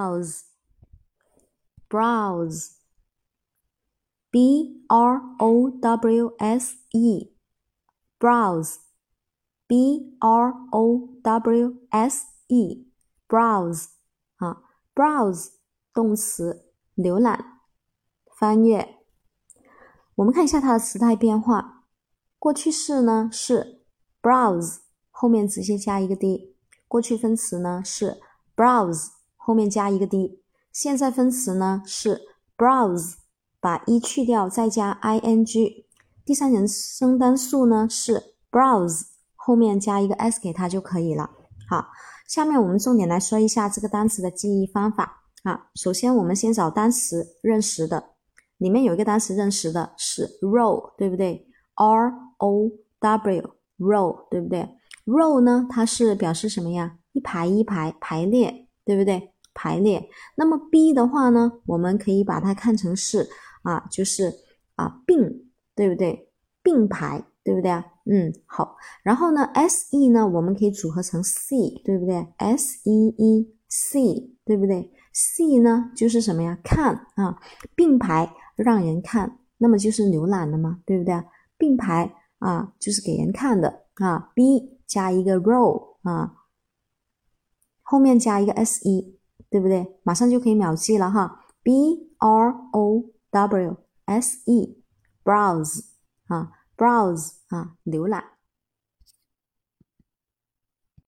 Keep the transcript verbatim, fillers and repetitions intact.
browse browse B R O W S E browse B R O W S E browse 啊 browse 动词浏览翻阅。我们看一下它的词态变化，过去式呢是 browse 后面直接加一个 d， 过去分词呢是 browse 后面加一个 d， 现在分词呢是 browse 把 e 去掉再加 ing， 第三人称单数呢是 browse 后面加一个 s 给它就可以了。好，下面我们重点来说一下这个单词的记忆方法啊。首先我们先找单词认识的，里面有一个单词认识的是 row， 对不对？ R O W row， 对不对？ row 呢它是表示什么呀？一排一排排列，对不对？排列。那么 B 的话呢，我们可以把它看成是啊，就是啊并，对不对？并排，对不对啊？嗯，好。然后呢 S E 呢我们可以组合成 C， 对不对？ S E E C， 对不对？ C 呢就是什么呀？看啊，并排让人看，那么就是浏览的嘛，对不对？并排啊就是给人看的啊。 B 加一个 row 啊，后面加一个 S E， 对不对？马上就可以秒记了哈。 B R O W S E browse 啊 browse 啊浏览。